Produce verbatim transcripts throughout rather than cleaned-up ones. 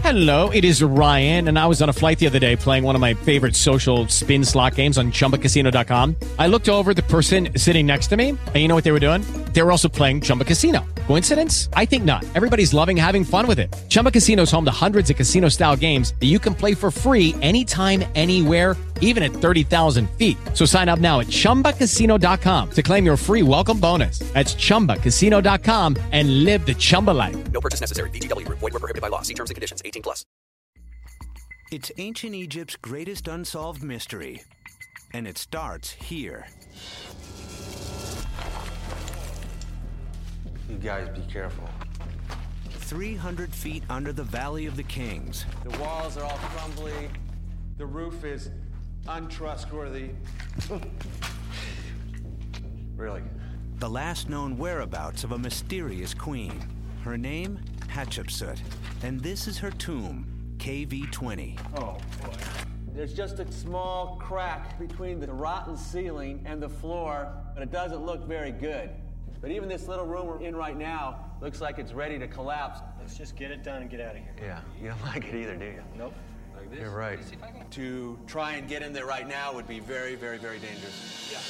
Hello, it is Ryan, and I was on a flight the other day playing one of my favorite social spin slot games on Chumba Casino dot com. I looked over at the person sitting next to me, and you know what they were doing? They were also playing Chumba Casino. Coincidence? I think not. Everybody's loving having fun with it. Chumba Casino is home to hundreds of casino-style games that you can play for free anytime, anywhere, even at thirty thousand feet. So sign up now at Chumba Casino dot com to claim your free welcome bonus. That's Chumba Casino dot com and live the Chumba life. No purchase necessary. V G W. Void where prohibited by law. See terms and conditions. eighteen plus. It's ancient Egypt's greatest unsolved mystery, and it starts here. You guys be careful. three hundred feet under the Valley of the Kings. The walls are all crumbly. The roof is untrustworthy. Really? The last known whereabouts of a mysterious queen. Her name, Hatshepsut. And this is her tomb, K V twenty. Oh, boy. There's just a small crack between the rotten ceiling and the floor, but it doesn't look very good. But even this little room we're in right now looks like it's ready to collapse. Let's just get it done and get out of here. Yeah, you don't like it either, do you? Nope. Like this? You're right. To try and get in there right now would be very, very, very dangerous. Yeah.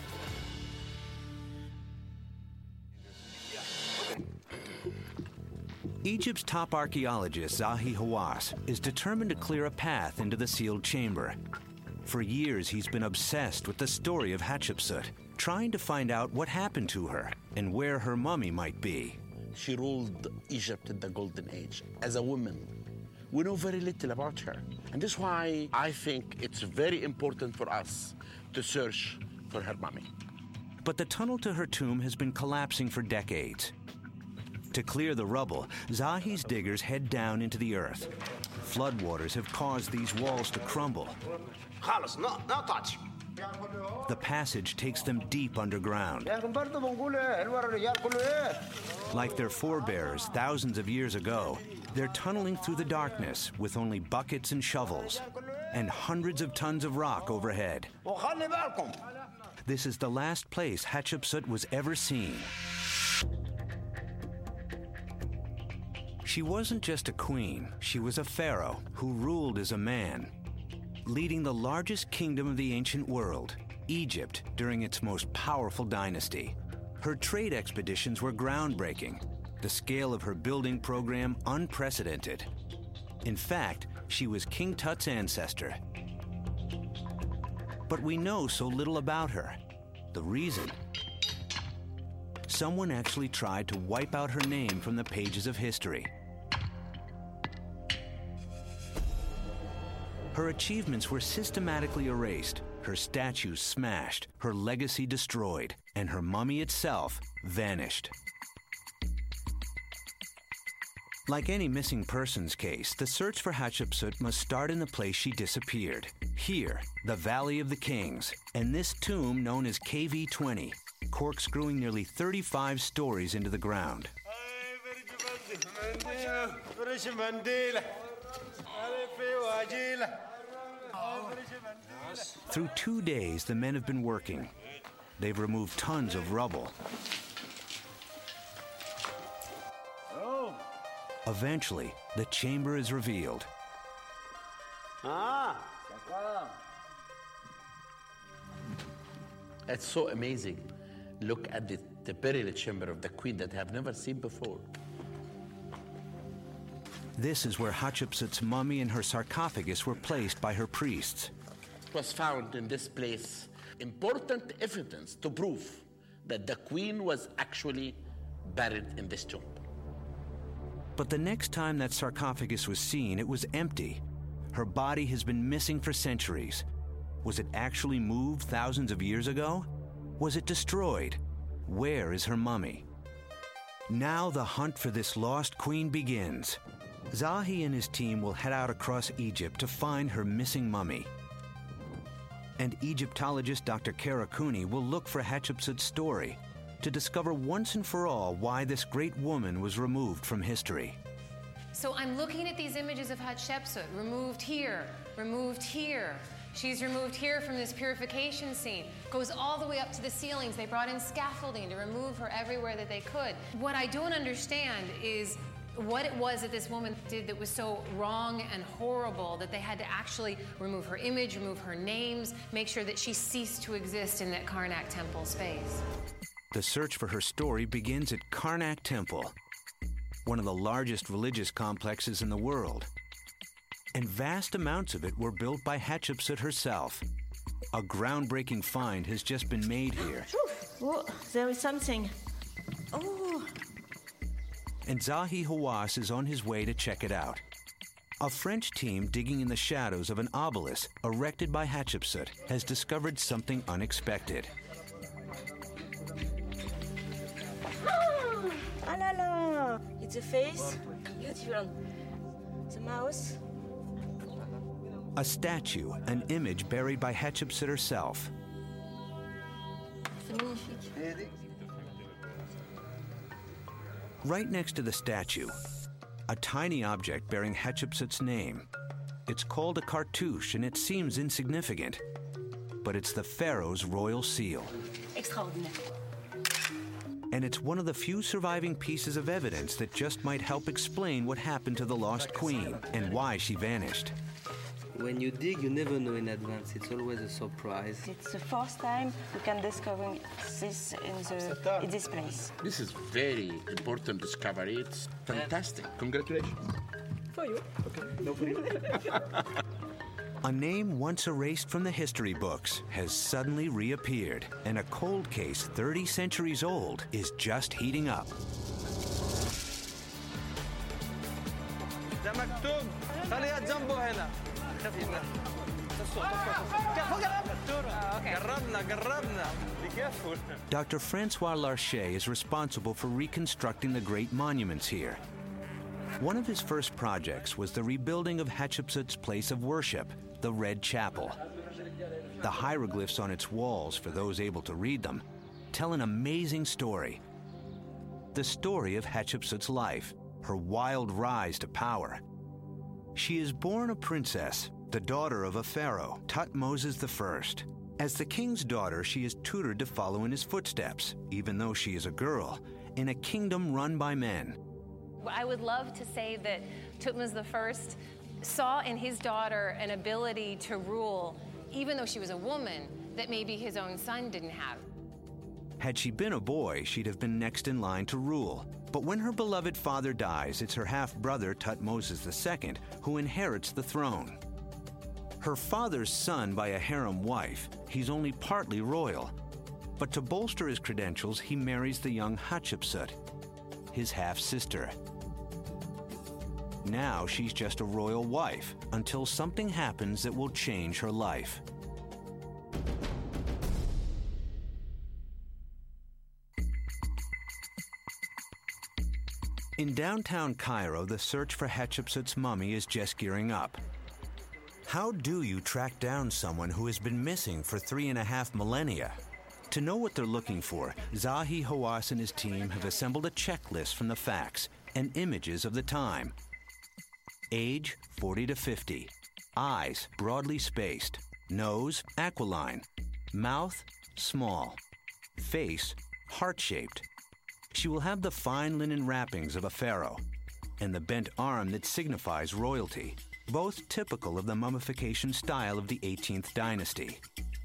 Egypt's top archaeologist, Zahi Hawass, is determined to clear a path into the sealed chamber. For years, he's been obsessed with the story of Hatshepsut, trying to find out what happened to her and where her mummy might be. She ruled Egypt in the Golden Age as a woman. We know very little about her. And that's why I think it's very important for us to search for her mummy. But the tunnel to her tomb has been collapsing for decades. To clear the rubble, Zahi's diggers head down into the earth. Floodwaters have caused these walls to crumble. No, no touch. The passage takes them deep underground. Like their forebears thousands of years ago, they're tunneling through the darkness with only buckets and shovels and hundreds of tons of rock overhead. This is the last place Hatshepsut was ever seen. She wasn't just a queen, she was a pharaoh who ruled as a man, leading the largest kingdom of the ancient world, Egypt, during its most powerful dynasty. Her trade expeditions were groundbreaking, the scale of her building program unprecedented. In fact, she was King Tut's ancestor. But we know so little about her. The reason? Someone actually tried to wipe out her name from the pages of history. Her achievements were systematically erased, her statues smashed, her legacy destroyed, and her mummy itself vanished. Like any missing persons case, the search for Hatshepsut must start in the place she disappeared. Here, the Valley of the Kings, and this tomb known as K V twenty, corkscrewing nearly thirty-five stories into the ground. Through two days, the men have been working. They've removed tons of rubble. Eventually, the chamber is revealed. It's so amazing. Look at the, the burial chamber of the queen that I have never seen before. This is where Hatshepsut's mummy and her sarcophagus were placed by her priests. It was found in this place important evidence to prove that the queen was actually buried in this tomb. But the next time that sarcophagus was seen, it was empty. Her body has been missing for centuries. Was it actually moved thousands of years ago? Was it destroyed? Where is her mummy? Now the hunt for this lost queen begins. Zahi and his team will head out across Egypt to find her missing mummy. And Egyptologist Doctor Kara Cooney will look for Hatshepsut's story to discover once and for all why this great woman was removed from history. So I'm looking at these images of Hatshepsut, removed here, removed here. She's removed here from this purification scene. Goes all the way up to the ceilings. They brought in scaffolding to remove her everywhere that they could. What I don't understand is what it was that this woman did that was so wrong and horrible that they had to actually remove her image, remove her names, make sure that she ceased to exist in that Karnak temple space. The search for her story begins at Karnak Temple, one of the largest religious complexes in the world. And vast amounts of it were built by Hatshepsut herself. A groundbreaking find has just been made here. Oh, there is something. Oh. And Zahi Hawass is on his way to check it out. A French team digging in the shadows of an obelisk erected by Hatshepsut has discovered something unexpected. Ah, ah la la. It's a face. Beautiful. The mouse. A statue, an image buried by Hatshepsut herself. C'est magnifique. Right next to the statue, a tiny object bearing Hatshepsut's name. It's called a cartouche and it seems insignificant, but it's the pharaoh's royal seal. Extraordinaire. And it's one of the few surviving pieces of evidence that just might help explain what happened to the lost queen and why she vanished. When you dig, you never know in advance. It's always a surprise. It's the first time we can discover this in, the, in this place. This is very important discovery. It's fantastic. Congratulations. For you. Okay, no for you. A name once erased from the history books has suddenly reappeared, and a cold case thirty centuries old is just heating up. Doctor Francois Larcher is responsible for reconstructing the great monuments here. One of his first projects was the rebuilding of Hatshepsut's place of worship, the Red Chapel. The hieroglyphs on its walls, for those able to read them, tell an amazing story. The story of Hatshepsut's life, her wild rise to power. She is born a princess, the daughter of a pharaoh, Thutmose the First. As the king's daughter, she is tutored to follow in his footsteps, even though she is a girl, in a kingdom run by men. I would love to say that Thutmose the First saw in his daughter an ability to rule, even though she was a woman, that maybe his own son didn't have. Had she been a boy, she'd have been next in line to rule. But when her beloved father dies, it's her half-brother, Thutmose the Second, who inherits the throne. Her father's son by a harem wife, he's only partly royal. But to bolster his credentials, he marries the young Hatshepsut, his half-sister. Now she's just a royal wife, until something happens that will change her life. In downtown Cairo, the search for Hatshepsut's mummy is just gearing up. How do you track down someone who has been missing for three and a half millennia? To know what they're looking for, Zahi Hawass and his team have assembled a checklist from the facts and images of the time. Age, forty to fifty. Eyes, broadly spaced. Nose, aquiline. Mouth, small. Face, heart-shaped. She will have the fine linen wrappings of a pharaoh and the bent arm that signifies royalty, both typical of the mummification style of the eighteenth dynasty.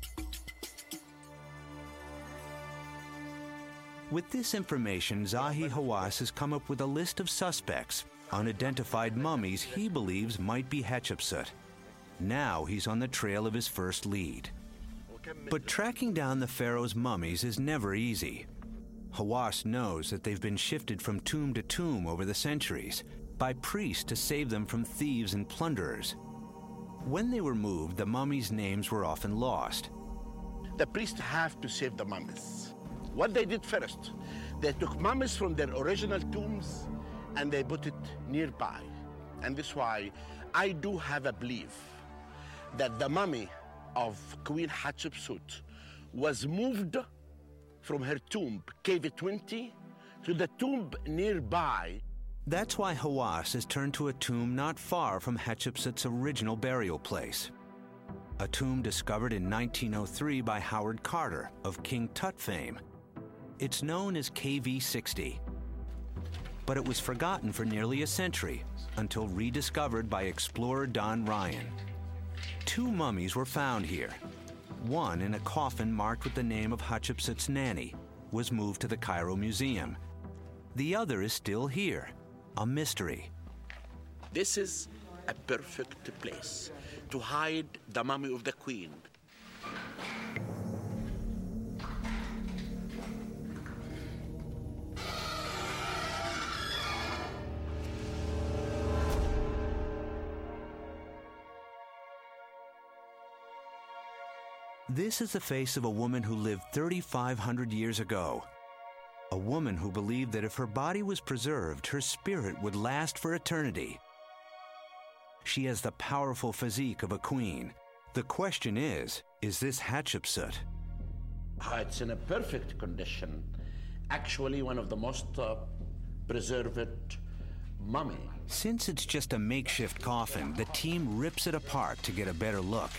With this information, Zahi Hawass has come up with a list of suspects, unidentified mummies he believes might be Hatshepsut. Now he's on the trail of his first lead. But tracking down the pharaoh's mummies is never easy. Hawass knows that they've been shifted from tomb to tomb over the centuries by priests to save them from thieves and plunderers. When they were moved, the mummies' names were often lost. The priests have to save the mummies. What they did first, they took mummies from their original tombs and they put it nearby. And this is why I do have a belief that the mummy of Queen Hatshepsut was moved from her tomb, Cave twenty, to the tomb nearby. That's why Hawass has turned to a tomb not far from Hatshepsut's original burial place. A tomb discovered in nineteen oh three by Howard Carter of King Tut fame. It's known as K V sixty. but it was forgotten for nearly a century until rediscovered by explorer Don Ryan. Two mummies were found here. One, in a coffin marked with the name of Hatshepsut's nanny, was moved to the Cairo Museum. The other is still here, a mystery. This is a perfect place to hide the mummy of the queen. This is the face of a woman who lived thirty-five hundred years ago. A woman who believed that if her body was preserved, her spirit would last for eternity. She has the powerful physique of a queen. The question is, is this Hatshepsut? It's in a perfect condition. Actually, one of the most uh, preserved mummy. Since it's just a makeshift coffin, the team rips it apart to get a better look.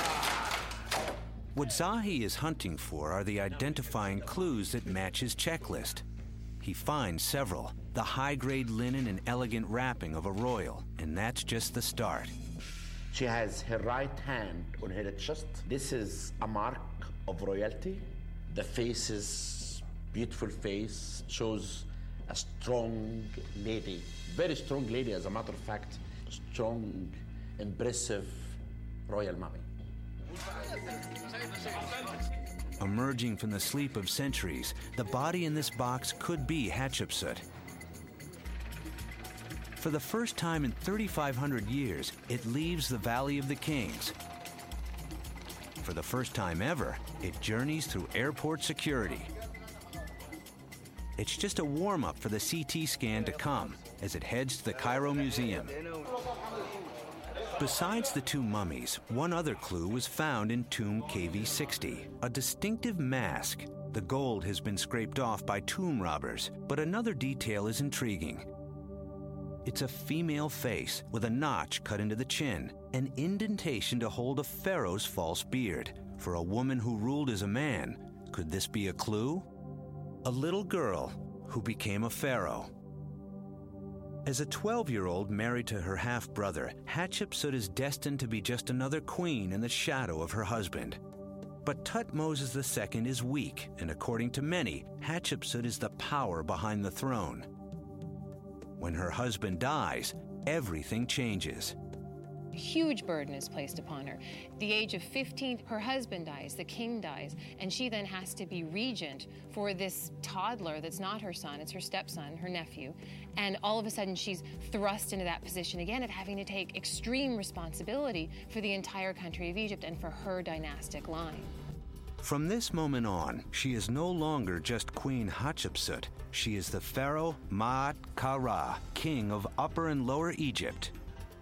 What Zahi is hunting for are the identifying clues that match his checklist. He finds several, the high-grade linen and elegant wrapping of a royal, and that's just the start. She has her right hand on her chest. This is a mark of royalty. The face is beautiful face, shows a strong lady, very strong lady, as a matter of fact, strong, impressive royal mummy. Emerging from the sleep of centuries, the body in this box could be Hatshepsut. For the first time in thirty-five hundred years, it leaves the Valley of the Kings. For the first time ever, it journeys through airport security. It's just a warm-up for the C T scan to come as it heads to the Cairo Museum. Besides the two mummies, one other clue was found in tomb K V sixty, a distinctive mask. The gold has been scraped off by tomb robbers, but another detail is intriguing. It's a female face with a notch cut into the chin, an indentation to hold a pharaoh's false beard. For a woman who ruled as a man, could this be a clue? A little girl who became a pharaoh. As a twelve-year-old married to her half-brother, Hatshepsut is destined to be just another queen in the shadow of her husband. But Thutmose the Second is weak, and according to many, Hatshepsut is the power behind the throne. When her husband dies, everything changes. A huge burden is placed upon her. At the age of fifteen, her husband dies, the king dies, and she then has to be regent for this toddler that's not her son, it's her stepson, her nephew. And all of a sudden, she's thrust into that position again of having to take extreme responsibility for the entire country of Egypt and for her dynastic line. From this moment on, she is no longer just Queen Hatshepsut. She is the pharaoh Maat Kara, king of Upper and Lower Egypt.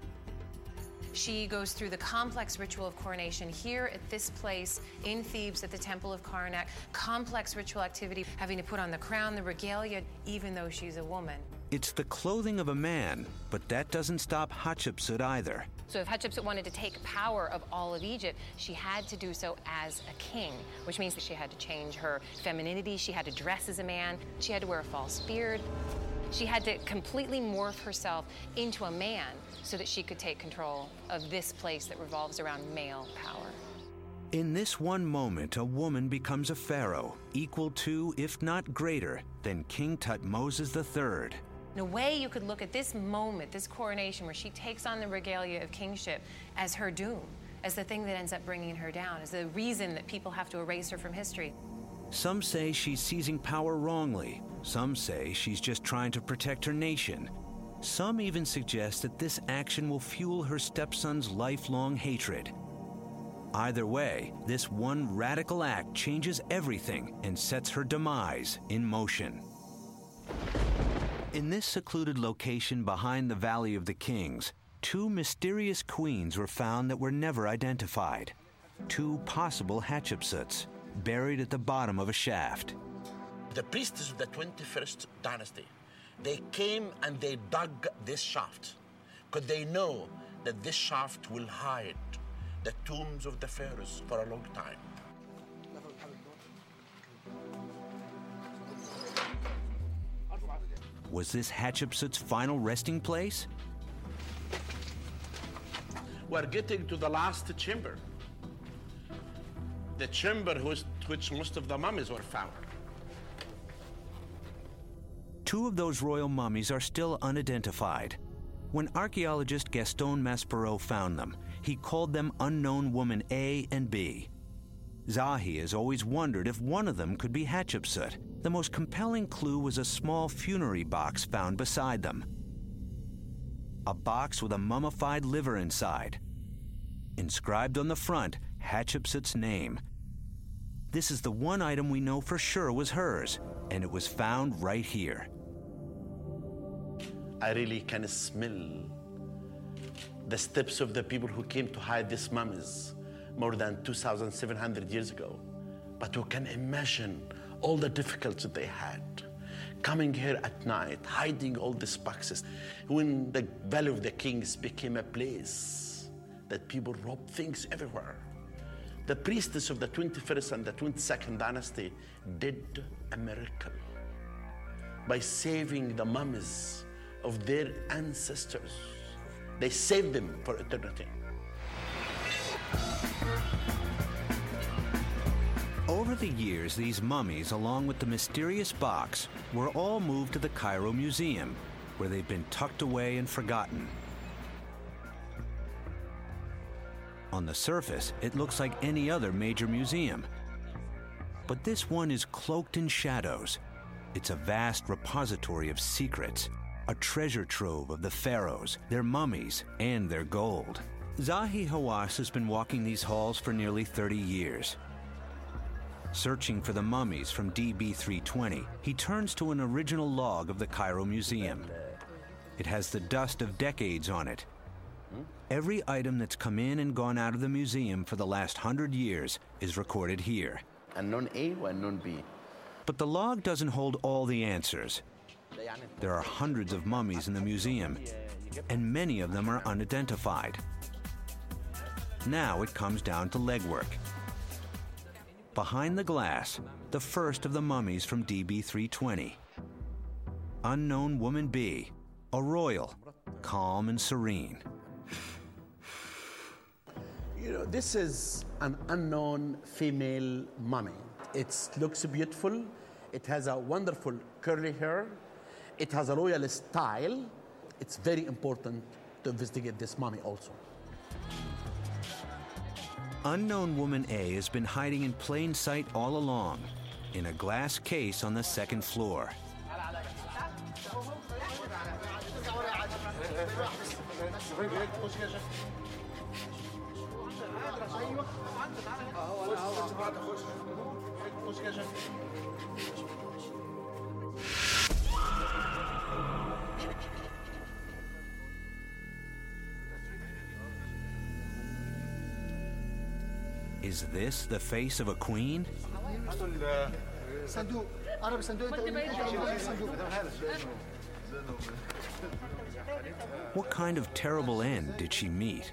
She goes through the complex ritual of coronation here at this place in Thebes at the Temple of Karnak. Complex ritual activity, having to put on the crown, the regalia, even though she's a woman. It's the clothing of a man, but that doesn't stop Hatshepsut either. So if Hatshepsut wanted to take power of all of Egypt, she had to do so as a king, which means that she had to change her femininity, she had to dress as a man, she had to wear a false beard. She had to completely morph herself into a man so that she could take control of this place that revolves around male power. In this one moment, a woman becomes a pharaoh, equal to, if not greater, than King Thutmose the Third. In a way, you could look at this moment, this coronation, where she takes on the regalia of kingship as her doom, as the thing that ends up bringing her down, as the reason that people have to erase her from history. Some say she's seizing power wrongly. Some say she's just trying to protect her nation. Some even suggest that this action will fuel her stepson's lifelong hatred. Either way, this one radical act changes everything and sets her demise in motion. In this secluded location behind the Valley of the Kings, two mysterious queens were found that were never identified. Two possible Hatshepsuts, buried at the bottom of a shaft. The priestess of the twenty-first dynasty, they came and they dug this shaft because they know that this shaft will hide the tombs of the pharaohs for a long time. Was this Hatshepsut's final resting place? We're getting to the last chamber. The chamber which, which most of the mummies were found. Two of those royal mummies are still unidentified. When archaeologist Gaston Maspero found them, he called them Unknown Woman A and B. Zahi has always wondered if one of them could be Hatshepsut. The most compelling clue was a small funerary box found beside them. A box with a mummified liver inside. Inscribed on the front, Hatshepsut's name. This is the one item we know for sure was hers, and it was found right here. I really can smell the steps of the people who came to hide these mummies more than two thousand seven hundred years ago. But you can imagine all the difficulties they had. Coming here at night, hiding all these boxes. When the Valley of the Kings became a place that people robbed things everywhere. The priestess of the twenty-first and the twenty-second dynasty did a miracle by saving the mummies of their ancestors. They saved them for eternity. Over the years, these mummies, along with the mysterious box, were all moved to the Cairo Museum, where they've been tucked away and forgotten. On the surface, it looks like any other major museum. But this one is cloaked in shadows. It's a vast repository of secrets, a treasure trove of the pharaohs, their mummies, and their gold. Zahi Hawass has been walking these halls for nearly thirty years. Searching for the mummies from D B three twenty, he turns to an original log of the Cairo Museum. It has the dust of decades on it. Every item that's come in and gone out of the museum for the last hundred years is recorded here. Unknown A or unknown B? But the log doesn't hold all the answers. There are hundreds of mummies in the museum, and many of them are unidentified. Now it comes down to legwork. Behind the glass, the first of the mummies from D B three twenty. Unknown Woman B, a royal, calm and serene. You know, this is an unknown female mummy. It looks beautiful. It has a wonderful curly hair. It has a royal style. It's very important to investigate this mummy also. Unknown Woman A has been hiding in plain sight all along, in a glass case on the second floor. Is this the face of a queen? What kind of terrible end did she meet?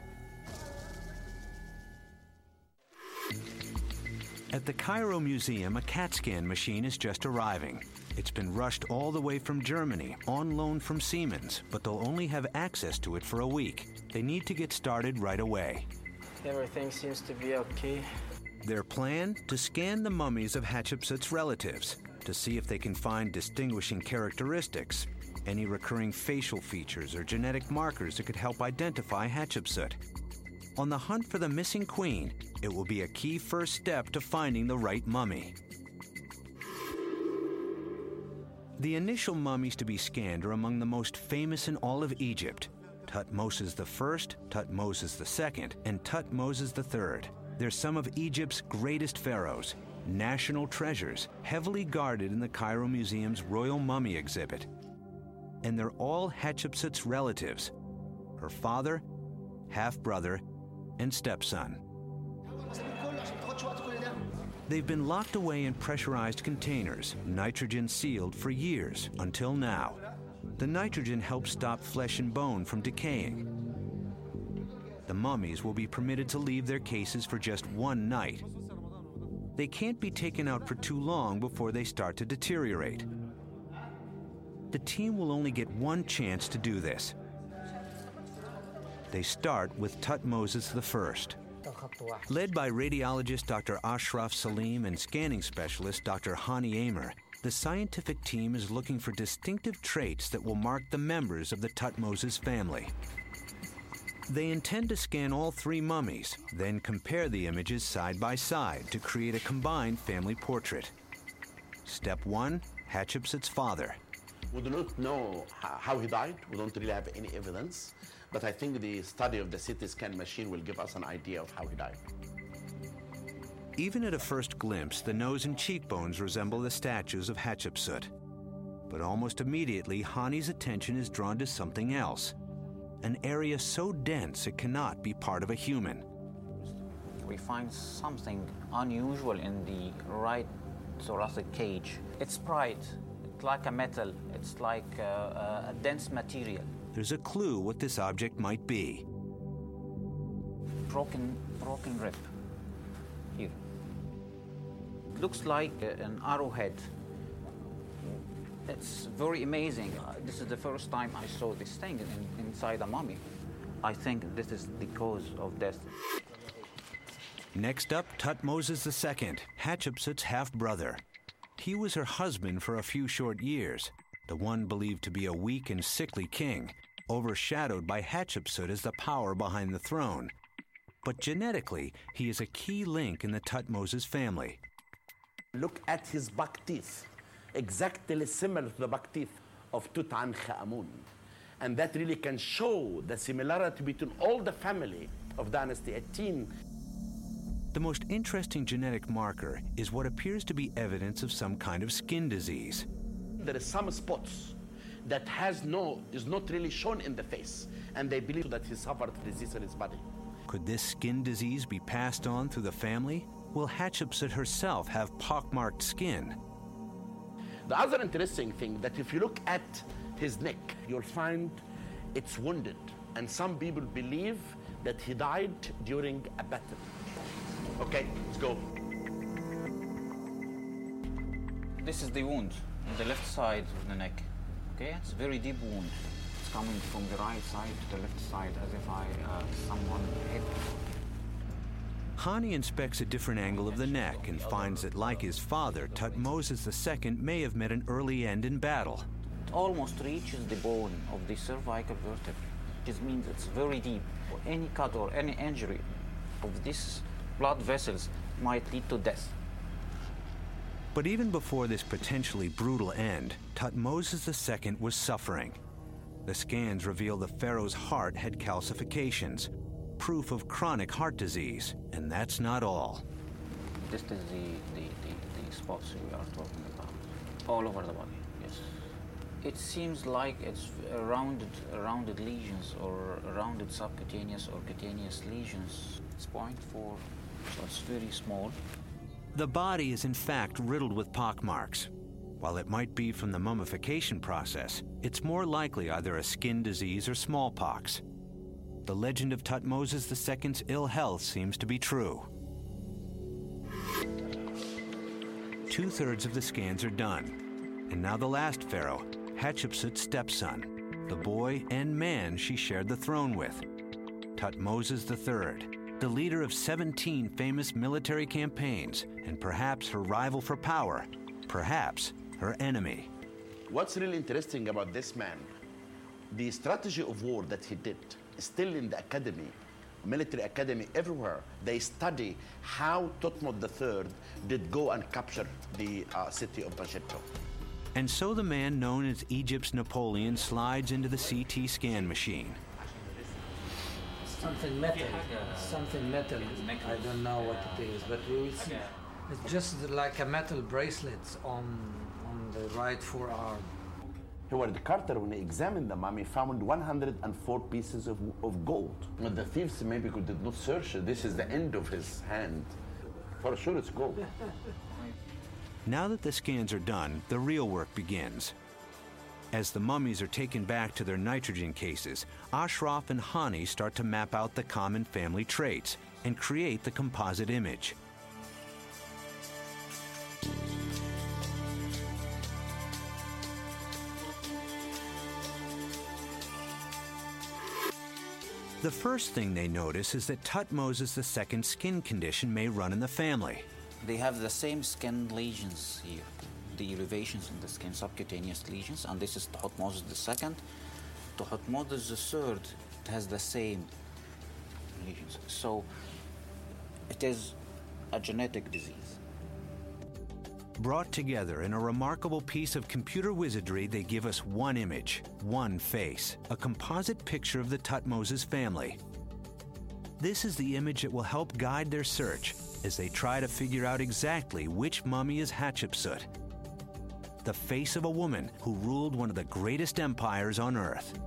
At the Cairo Museum, a CAT scan machine is just arriving. It's been rushed all the way from Germany, on loan from Siemens, but they'll only have access to it for a week. They need to get started right away. Everything seems to be okay. Their plan? To scan the mummies of Hatshepsut's relatives, to see if they can find distinguishing characteristics, any recurring facial features or genetic markers that could help identify Hatshepsut. On the hunt for the missing queen, it will be a key first step to finding the right mummy. The initial mummies to be scanned are among the most famous in all of Egypt. Tutmosis the First, Tutmosis the Second, and Tutmosis the Third. They're some of Egypt's greatest pharaohs, national treasures, heavily guarded in the Cairo Museum's Royal Mummy exhibit. And they're all Hatshepsut's relatives, her father, half-brother, and stepson. They've been locked away in pressurized containers, nitrogen-sealed for years, until now. The nitrogen helps stop flesh and bone from decaying. The mummies will be permitted to leave their cases for just one night. They can't be taken out for too long before they start to deteriorate. The team will only get one chance to do this. They start with Thutmoses the First. Led by radiologist Doctor Ashraf Salim and scanning specialist Doctor Hani Amer, the scientific team is looking for distinctive traits that will mark the members of the Thutmoses family. They intend to scan all three mummies, then compare the images side by side to create a combined family portrait. Step one, Hatshepsut's father. We do not know how he died. We don't really have any evidence. But I think the study of the C T scan machine will give us an idea of how he died. Even at a first glimpse, the nose and cheekbones resemble the statues of Hatshepsut. But almost immediately, Hani's attention is drawn to something else. An area so dense it cannot be part of a human. We find something unusual in the right thoracic cage. It's bright, it's like a metal, it's like a, a dense material. There's a clue what this object might be. Broken, broken rib here. It looks like an arrowhead. It's very amazing. Uh, this is the first time I saw this thing in, inside a mummy. I think this is the cause of death. Next up, Thutmoses the Second, Hatshepsut's half-brother. He was her husband for a few short years, the one believed to be a weak and sickly king, overshadowed by Hatshepsut as the power behind the throne. But genetically, he is a key link in the Thutmoses family. Look at his buck teeth, exactly similar to the buck teeth of Tutankhamun. And that really can show the similarity between all the family of Dynasty eighteen. The most interesting genetic marker is what appears to be evidence of some kind of skin disease. There is some spots that has no, is not really shown in the face, and they believe that he suffered disease in his body. Could this skin disease be passed on through the family? Will Hatshepsut herself have pockmarked skin? The other interesting thing that if you look at his neck, you'll find it's wounded, and some people believe that he died during a battle. Okay, let's go. This is the wound on the left side of the neck. Okay, it's a very deep wound. It's coming from the right side to the left side, as if I uh, someone hit. Hani inspects a different angle of the neck and finds that, like his father, Thutmoses the Second may have met an early end in battle. It almost reaches the bone of the cervical vertebra, which means it's very deep. Any cut or any injury of these blood vessels might lead to death. But even before this potentially brutal end, Thutmoses the Second was suffering. The scans reveal the pharaoh's heart had calcifications, proof of chronic heart disease, and that's not all. This is the, the, the, the spots we are talking about, all over the body, yes. It seems like it's rounded, rounded lesions or rounded subcutaneous or cutaneous lesions. It's zero point four, so it's very small. The body is in fact riddled with pockmarks. While it might be from the mummification process, it's more likely either a skin disease or smallpox. The legend of Thutmoses the Second's ill health seems to be true. Two-thirds of the scans are done. And now the last pharaoh, Hatshepsut's stepson, the boy and man she shared the throne with, Thutmoses the Third, the leader of seventeen famous military campaigns, and perhaps her rival for power, perhaps her enemy. What's really interesting about this man, the strategy of war that he did, still in the academy, military academy everywhere, they study how Thutmose the Third did go and capture the uh, city of Mogadishu. And so the man known as Egypt's Napoleon slides into the C T scan machine. Something metal, something metal. I don't know what it is, but we will see. It's just like a metal bracelet on on the right forearm. Howard Carter, when he examined the mummy, found one hundred four pieces of, of gold. But the thieves maybe did not search it. This is the end of his hand. For sure it's gold. Now that the scans are done, the real work begins. As the mummies are taken back to their nitrogen cases, Ashraf and Hani start to map out the common family traits and create the composite image. The first thing they notice is that Thutmose the second's skin condition may run in the family. They have the same skin lesions here, the elevations in the skin, subcutaneous lesions, and this is Thutmose the second. Thutmose the third has the same lesions. So it is a genetic disease. Brought together in a remarkable piece of computer wizardry, they give us one image, one face, a composite picture of the Thutmose's family. This is the image that will help guide their search as they try to figure out exactly which mummy is Hatshepsut, the face of a woman who ruled one of the greatest empires on Earth.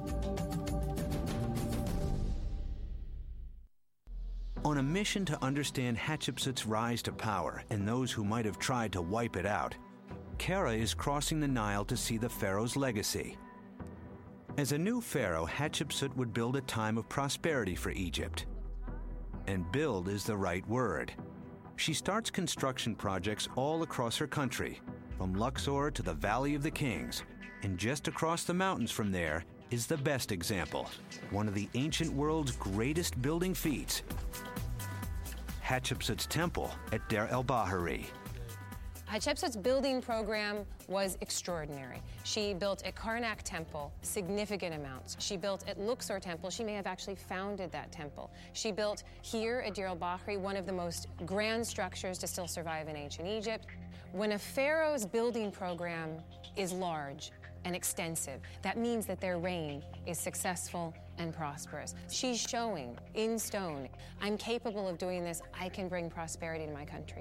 On a mission to understand Hatshepsut's rise to power and those who might have tried to wipe it out, Kara is crossing the Nile to see the pharaoh's legacy. As a new pharaoh, Hatshepsut would build a time of prosperity for Egypt. And build is the right word. She starts construction projects all across her country, from Luxor to the Valley of the Kings. And just across the mountains from there is the best example, one of the ancient world's greatest building feats, Hatshepsut's temple at Deir el-Bahari. Hatshepsut's building program was extraordinary. She built at Karnak Temple significant amounts. She built at Luxor Temple. She may have actually founded that temple. She built here at Deir el-Bahari one of the most grand structures to still survive in ancient Egypt. When a pharaoh's building program is large and extensive, that means that their reign is successful and prosperous. She's showing in stone, I'm capable of doing this. I can bring prosperity to my country.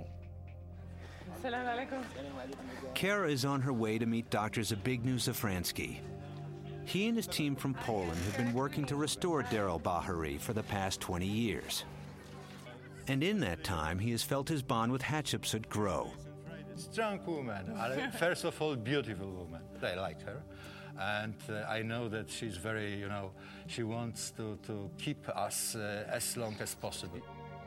Kara is on her way to meet Doctor Zbigniew Zafransky. He and his team from Poland have been working to restore Deir el-Bahari for the past twenty years. And in that time, he has felt his bond with Hatshepsut grow. Strong woman, first of all, beautiful woman. I like her, and uh, I know that she's very, you know, she wants to, to keep us uh, as long as possible.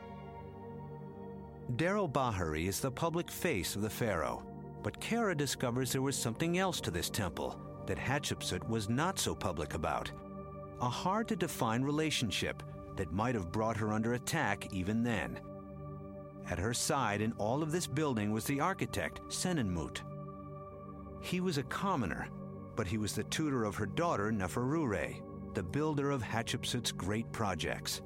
Deir el-Bahari is the public face of the pharaoh, but Kara discovers there was something else to this temple that Hatshepsut was not so public about. A hard-to-define relationship that might have brought her under attack even then. At her side in all of this building was the architect, Senenmut. He was a commoner, but he was the tutor of her daughter, Neferure, the builder of Hatshepsut's great projects.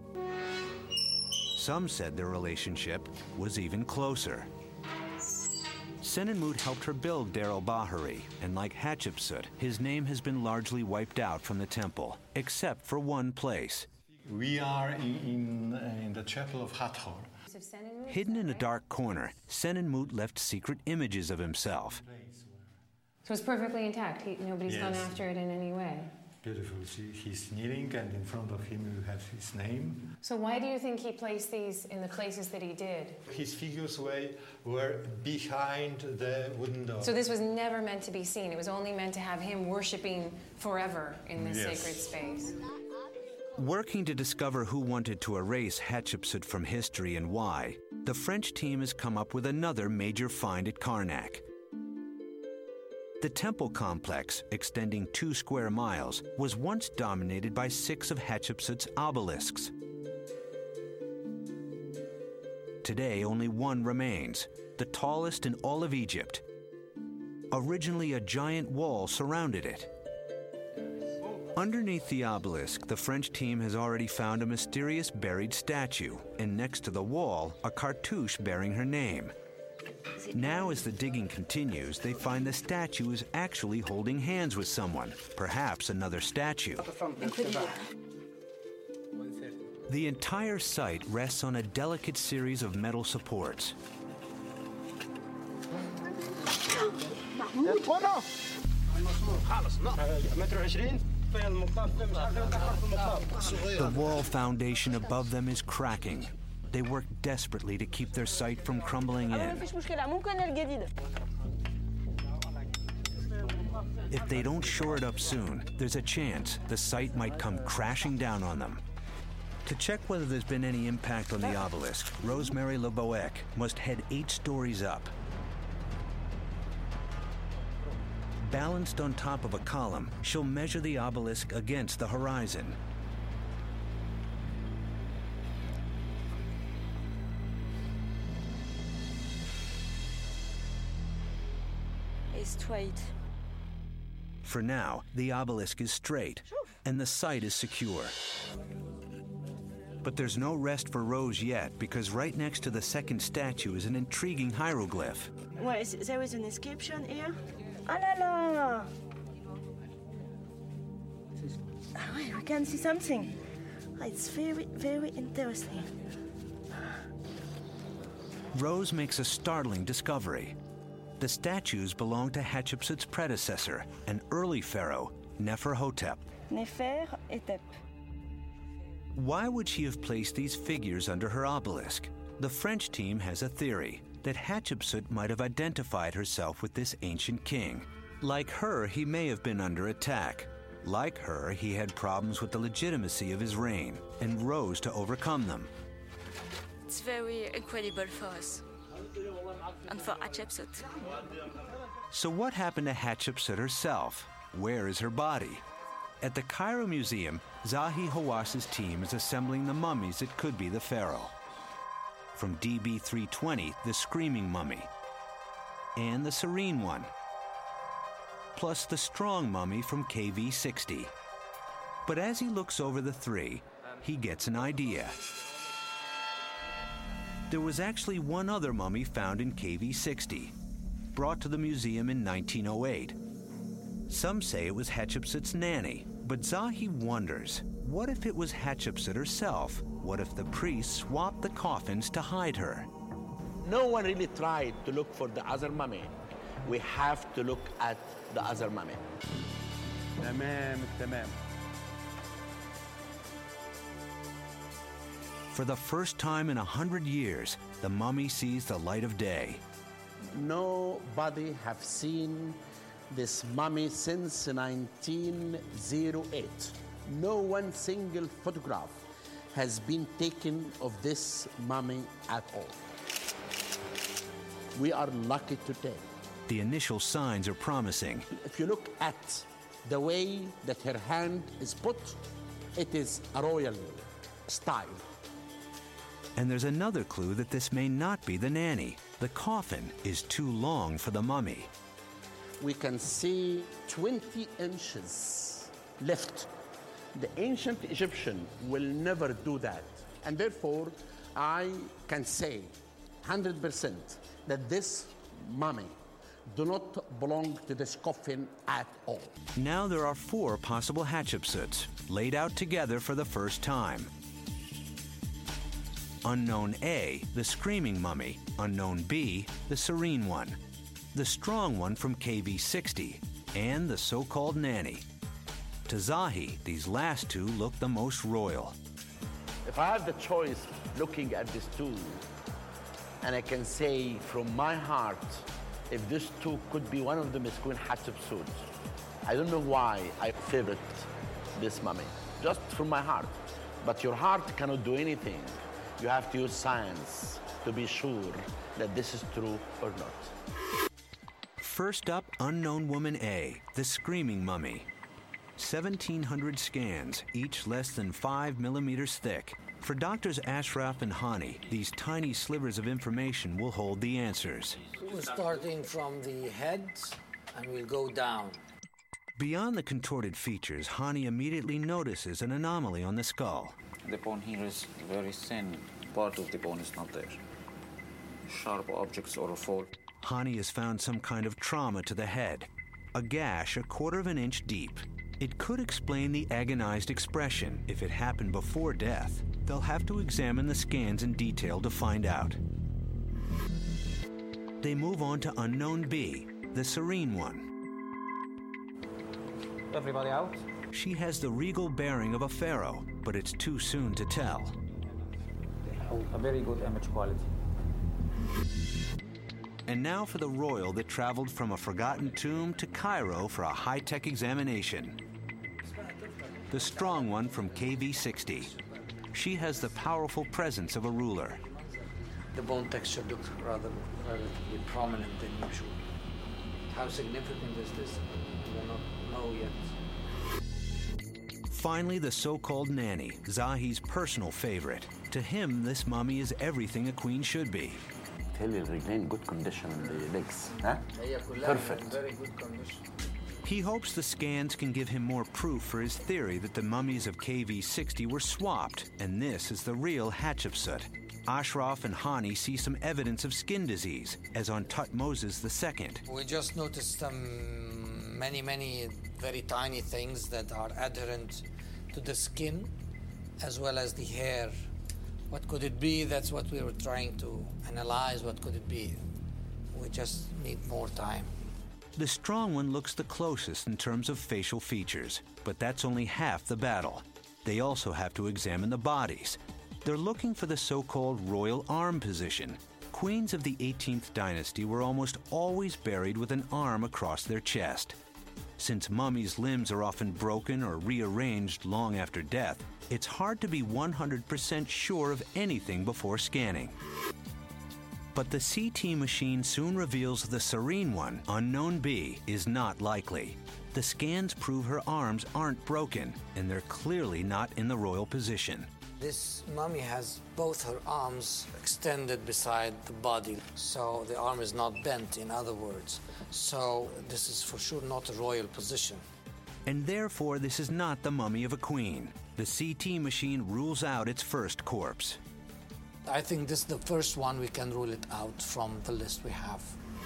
Some said their relationship was even closer. Senenmut helped her build Deir el-Bahari, and like Hatshepsut, his name has been largely wiped out from the temple, except for one place. We are in, in, uh, in the chapel of Hathor. Hidden in a dark corner, Senenmut left secret images of himself. So it's perfectly intact. He, nobody's Yes. gone after it in any way. Beautiful. See, he's kneeling, and in front of him you have his name. So why do you think he placed these in the places that he did? His figures were, were behind the wooden door. So this was never meant to be seen. It was only meant to have him worshiping forever in this Yes. sacred space. Working to discover who wanted to erase Hatshepsut from history and why, the French team has come up with another major find at Karnak. The temple complex, extending two square miles, was once dominated by six of Hatshepsut's obelisks. Today, only one remains, the tallest in all of Egypt. Originally, a giant wall surrounded it. Underneath the obelisk, the French team has already found a mysterious buried statue, and next to the wall, a cartouche bearing her name. Now, as the digging continues, they find the statue is actually holding hands with someone, perhaps another statue. The entire site rests on a delicate series of metal supports. The wall foundation above them is cracking. They work desperately to keep their site from crumbling in. If they don't shore it up soon, there's a chance the site might come crashing down on them. To check whether there's been any impact on the obelisk, Rosemary Leboeck must head eight stories up. Balanced on top of a column, she'll measure the obelisk against the horizon. straight. For now, the obelisk is straight, and the site is secure. But there's no rest for Rose yet, because right next to the second statue is an intriguing hieroglyph. Well, is, there is an inscription here. Ah la la! Ah, wait, we can see something. It's very, very interesting. Rose makes a startling discovery. The statues belong to Hatshepsut's predecessor, an early pharaoh, Neferhotep. Neferhotep. Why would she have placed these figures under her obelisk? The French team has a theory that Hatshepsut might have identified herself with this ancient king. Like her, he may have been under attack. Like her, he had problems with the legitimacy of his reign and rose to overcome them. It's very incredible for us and for Hatshepsut. So what happened to Hatshepsut herself? Where is her body? At the Cairo Museum, Zahi Hawass's team is assembling the mummies that could be the pharaoh. From D B three twenty, the Screaming Mummy, and the Serene One, plus the Strong Mummy from K V sixty. But as he looks over the three, he gets an idea. There was actually one other mummy found in K V sixty, brought to the museum in nineteen oh eight. Some say it was Hatshepsut's nanny, but Zahi wonders, what if it was Hatshepsut herself? What if the priests swapped the coffins to hide her? No one really tried to look for the other mummy. We have to look at the other mummy. Tamam, tamam. For the first time in a hundred years, the mummy sees the light of day. Nobody have seen this mummy since nineteen oh eight. No one single photograph has been taken of this mummy at all. We are lucky today. The initial signs are promising. If you look at the way that her hand is put, it is a royal style. And there's another clue that this may not be the nanny. The coffin is too long for the mummy. We can see twenty inches left. The ancient Egyptian will never do that. And therefore, I can say one hundred percent that this mummy do not belong to this coffin at all. Now there are four possible Hatshepsuts, laid out together for the first time. Unknown A, the Screaming Mummy. Unknown B, the Serene One. The Strong One from K V sixty, and the so-called nanny. To Zahi, these last two look the most royal. If I have the choice looking at these two, and I can say from my heart, if these two could be, one of them is Queen Hatshepsut. I don't know why I favorite this mummy, just from my heart. But your heart cannot do anything. You have to use science to be sure that this is true or not. First up, Unknown Woman A, the Screaming Mummy. seventeen hundred scans, each less than five millimeters thick. For Doctors Ashraf and Hani, these tiny slivers of information will hold the answers. We're starting from the head, and we'll go down. Beyond the contorted features, Hani immediately notices an anomaly on the skull. The bone here is very thin. Part of the bone is not there. Sharp objects or a fall. Hani has found some kind of trauma to the head. A gash a quarter of an inch deep. It could explain the agonized expression. If it happened before death, they'll have to examine the scans in detail to find out. They move on to Unknown B, the Serene One. Everybody out? She has the regal bearing of a pharaoh, but it's too soon to tell. A very good image quality. And now for the royal that traveled from a forgotten tomb to Cairo for a high-tech examination. The Strong One from K V sixty. She has the powerful presence of a ruler. The bone texture looks rather relatively prominent than usual. How significant is this? We do not know yet. Finally, the so-called nanny, Zahi's personal favorite. To him, this mummy is everything a queen should be. بتهيألي الرجلين good condition the legs huh? Perfect. Very good condition. He hopes the scans can give him more proof for his theory that the mummies of K V sixty were swapped, and this is the real Hatshepsut. Ashraf and Hani see some evidence of skin disease, as on Tutmosis the Second. We just noticed some many, many very tiny things that are adherent to the skin as well as the hair. What could it be? That's what we were trying to analyze. What could it be? We just need more time. The strong one looks the closest in terms of facial features, but that's only half the battle. They also have to examine the bodies. They're looking for the so-called royal arm position. Queens of the eighteenth dynasty were almost always buried with an arm across their chest. Since mummies' limbs are often broken or rearranged long after death, it's hard to be one hundred percent sure of anything before scanning. But the C T machine soon reveals the serene one, Unknown B, is not likely. The scans prove her arms aren't broken, and they're clearly not in the royal position. This mummy has both her arms extended beside the body, so the arm is not bent, in other words. So this is for sure not a royal position. And therefore, this is not the mummy of a queen. The C T machine rules out its first corpse. I think this is the first one. We can rule it out from the list we have.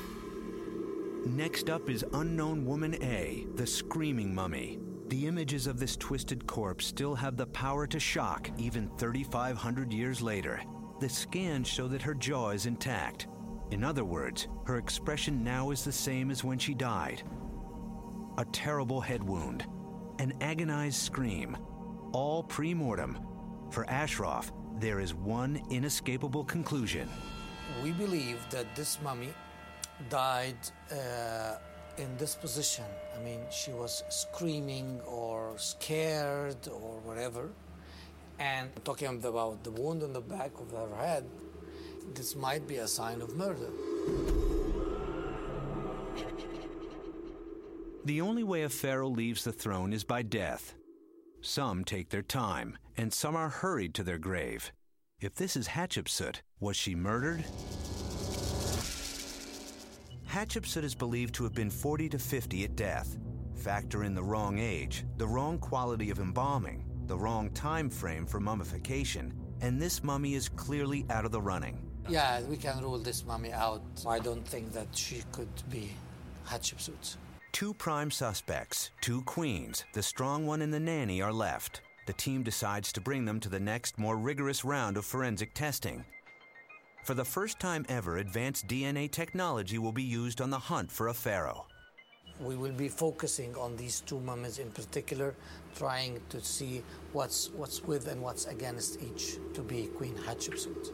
Next up is Unknown Woman A, the screaming mummy. The images of this twisted corpse still have the power to shock even thirty-five hundred years later. The scans show that her jaw is intact. In other words, her expression now is the same as when she died. A terrible head wound, an agonized scream, all pre-mortem. For Ashraf, there is one inescapable conclusion. We believe that this mummy died uh, in this position. I mean, she was screaming or scared or whatever. And talking about the wound on the back of her head, this might be a sign of murder. The only way a pharaoh leaves the throne is by death. Some take their time, and some are hurried to their grave. If this is Hatshepsut, was she murdered? Hatshepsut is believed to have been forty to fifty at death. Factor in the wrong age, the wrong quality of embalming, the wrong time frame for mummification, and this mummy is clearly out of the running. Yeah, we can rule this mummy out. I don't think that she could be Hatshepsut. Two prime suspects, two queens, the strong one and the nanny are left. The team decides to bring them to the next, more rigorous round of forensic testing. For the first time ever, advanced D N A technology will be used on the hunt for a pharaoh. We will be focusing on these two mummies in particular, trying to see what's what's with and what's against each to be Queen Hatshepsut.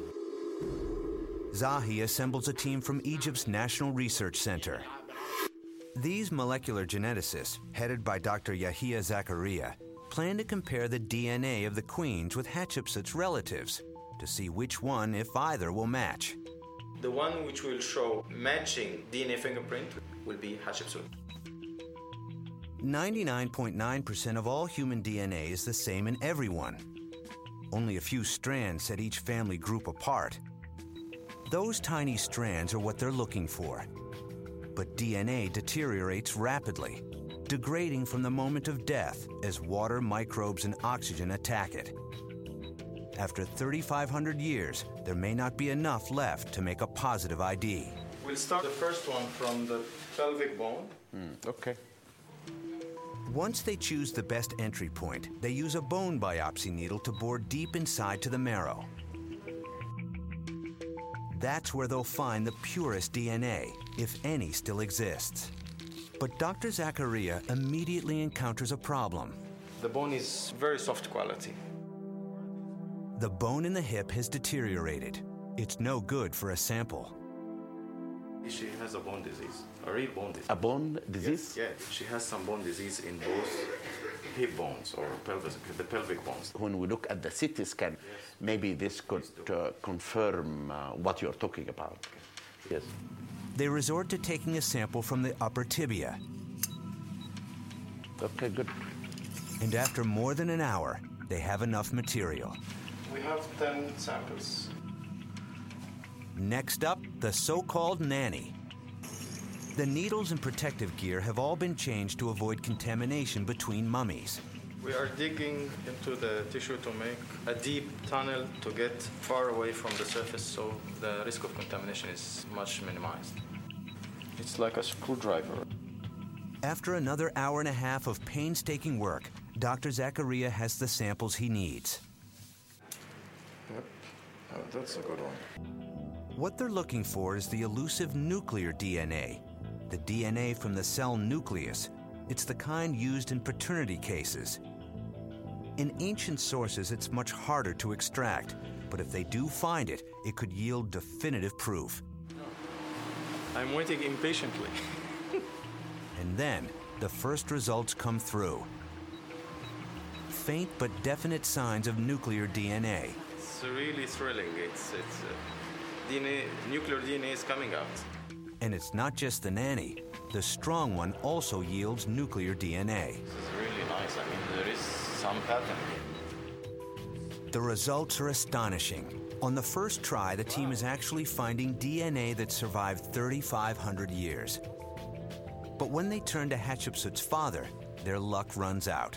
Zahi assembles a team from Egypt's National Research Center. These molecular geneticists, headed by Doctor Yahia Zakaria, plan to compare the D N A of the queens with Hatshepsut's relatives to see which one, if either, will match. The one which will show matching D N A fingerprint will be Hatshepsut. ninety-nine point nine percent of all human D N A is the same in everyone. Only a few strands set each family group apart. Those tiny strands are what they're looking for. But D N A deteriorates rapidly, degrading from the moment of death as water, microbes, and oxygen attack it. After thirty-five hundred years, there may not be enough left to make a positive I D. We'll start the first one from the pelvic bone. Mm, okay. Once they choose the best entry point, they use a bone biopsy needle to bore deep inside to the marrow. That's where they'll find the purest D N A, if any still exists. But Doctor Zakaria immediately encounters a problem. The bone is very soft quality. The bone in the hip has deteriorated. It's no good for a sample. She has a bone disease, a real bone disease. A bone disease? Yes, yeah, she has some bone disease in both hip bones or pelvis, the pelvic bones. When we look at the C T scan, yes, maybe this could uh, confirm uh, what you're talking about. Yes. They resort to taking a sample from the upper tibia. Okay, good. And after more than an hour, they have enough material. We have ten samples. Next up, the so-called nanny. The needles and protective gear have all been changed to avoid contamination between mummies. We are digging into the tissue to make a deep tunnel to get far away from the surface so the risk of contamination is much minimized. It's like a screwdriver. After another hour and a half of painstaking work, Doctor Zakaria has the samples he needs. Yep, oh, that's a good one. What they're looking for is the elusive nuclear D N A, the D N A from the cell nucleus. It's the kind used in paternity cases. In ancient sources, it's much harder to extract, but if they do find it, it could yield definitive proof. I'm waiting impatiently. And then, the first results come through. Faint but definite signs of nuclear D N A. It's really thrilling. It's, it's uh, D N A, nuclear D N A is coming out. And it's not just the nanny. The strong one also yields nuclear D N A. This is really nice. I mean, there is some pattern. The results are astonishing. On the first try, the team is actually finding D N A that survived thirty-five hundred years. But when they turn to Hatshepsut's father, their luck runs out.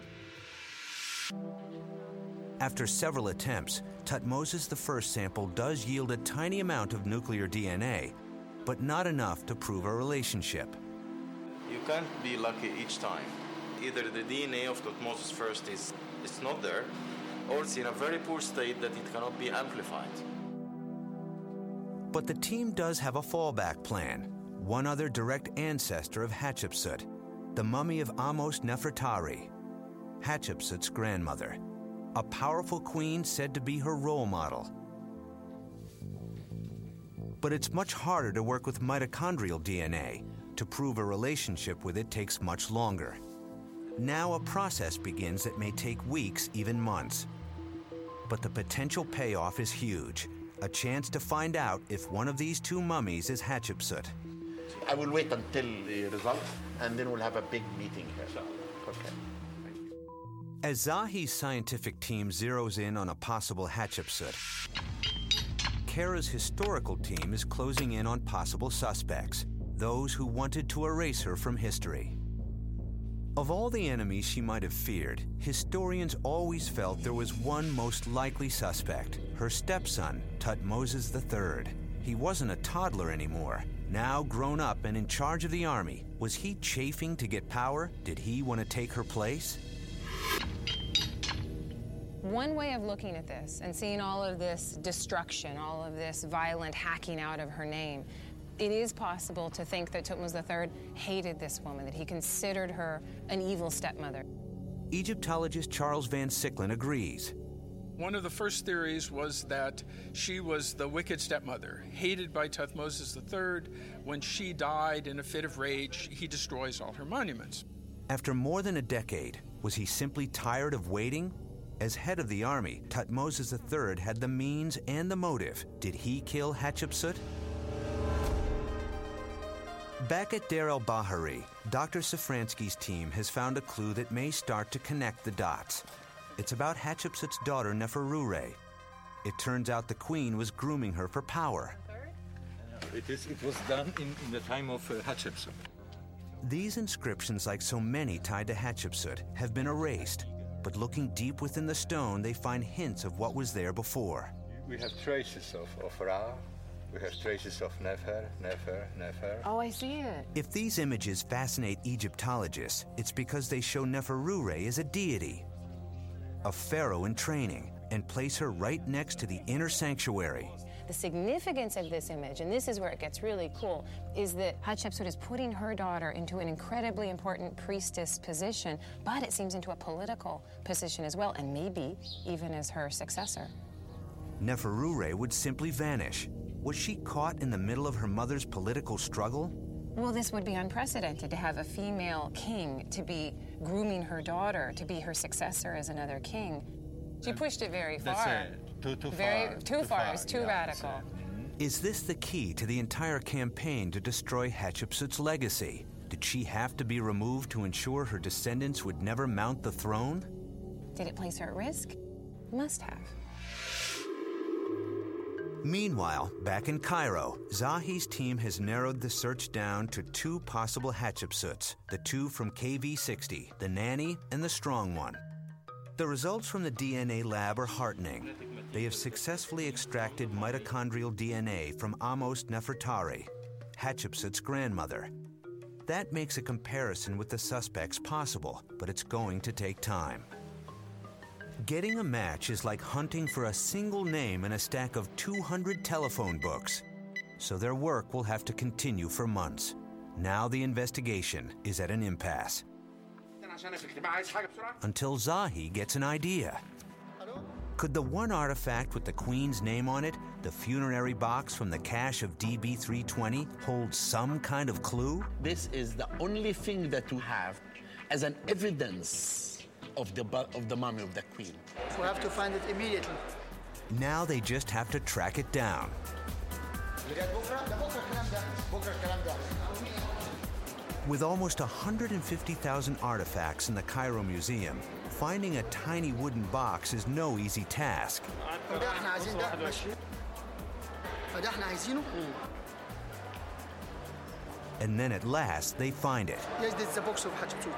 After several attempts, Thutmose the First sample does yield a tiny amount of nuclear D N A, but not enough to prove a relationship. You can't be lucky each time. Either the D N A of Thutmose First is it's not there, or it's in a very poor state that it cannot be amplified. But the team does have a fallback plan. One other direct ancestor of Hatshepsut, the mummy of Ahmose Nefertari, Hatshepsut's grandmother, a powerful queen said to be her role model. But it's much harder to work with mitochondrial D N A. To prove a relationship with it takes much longer. Now a process begins that may take weeks, even months. But the potential payoff is huge. A chance to find out if one of these two mummies is Hatshepsut. I will wait until the result, and then we'll have a big meeting here. Okay. As Zahi's scientific team zeroes in on a possible Hatshepsut, Kara's historical team is closing in on possible suspects, those who wanted to erase her from history. Of all the enemies she might have feared, historians always felt there was one most likely suspect, her stepson, Thutmose the Third. He wasn't a toddler anymore. Now grown up and in charge of the army, was he chafing to get power? Did he want to take her place? One way of looking at this and seeing all of this destruction, all of this violent hacking out of her name, it is possible to think that Thutmose the Third hated this woman, that he considered her an evil stepmother. Egyptologist Charles Van Sicklen agrees. One of the first theories was that she was the wicked stepmother, hated by Thutmose the Third. When she died in a fit of rage, he destroys all her monuments. After more than a decade, was he simply tired of waiting? As head of the army, Thutmose the Third had the means and the motive. Did he kill Hatshepsut? Back at Deir el-Bahari, Doctor Safransky's team has found a clue that may start to connect the dots. It's about Hatshepsut's daughter, Neferure. It turns out the queen was grooming her for power. It, is, it was done in, in the time of uh, Hatshepsut. These inscriptions, like so many tied to Hatshepsut, have been erased. But looking deep within the stone, they find hints of what was there before. We have traces of, of Ra. We have traces of Nefer, Nefer, Nefer. Oh, I see it. If these images fascinate Egyptologists, it's because they show Neferure as a deity, a pharaoh in training, and place her right next to the inner sanctuary. The significance of this image, and this is where it gets really cool, is that Hatshepsut is putting her daughter into an incredibly important priestess position, but it seems into a political position as well, and maybe even as her successor. Neferure would simply vanish. Was she caught in the middle of her mother's political struggle? Well, this would be unprecedented, to have a female king to be grooming her daughter to be her successor as another king. She pushed it very far. That's it. Too, too very, far. Too, too far. far. It's too yeah, radical. Is this the key to the entire campaign to destroy Hatshepsut's legacy? Did she have to be removed to ensure her descendants would never mount the throne? Did it place her at risk? Must have. Meanwhile, back in Cairo, Zahi's team has narrowed the search down to two possible Hatshepsuts, the two from K V sixty, the nanny and the strong one. The results from the D N A lab are heartening. They have successfully extracted mitochondrial D N A from Amos Nefertari, Hatshepsut's grandmother. That makes a comparison with the suspects possible, but it's going to take time. Getting a match is like hunting for a single name in a stack of two hundred telephone books. So their work will have to continue for months. Now the investigation is at an impasse. Until Zahi gets an idea. Could the one artifact with the Queen's name on it, the funerary box from the cache of D B three twenty, hold some kind of clue? This is the only thing that we have as an evidence of the, of the mummy of the Queen. We have to find it immediately. Now they just have to track it down. With almost one hundred fifty thousand artifacts in the Cairo Museum, finding a tiny wooden box is no easy task. And then at last, they find it. Yes, this is the box of Hatshepsut.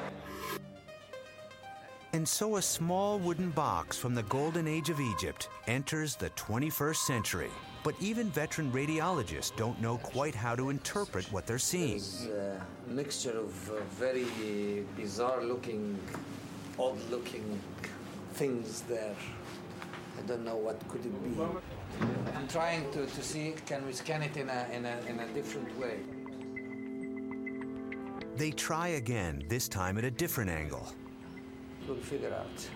And so a small wooden box from the Golden Age of Egypt enters the twenty-first century. But even veteran radiologists don't know quite how to interpret what they're seeing. There's a mixture of uh, very bizarre-looking, odd-looking things there. I don't know what could it be. I'm trying to, to see, can we scan it in a, in, a, in a different way? They try again, this time at a different angle. We'll figure out.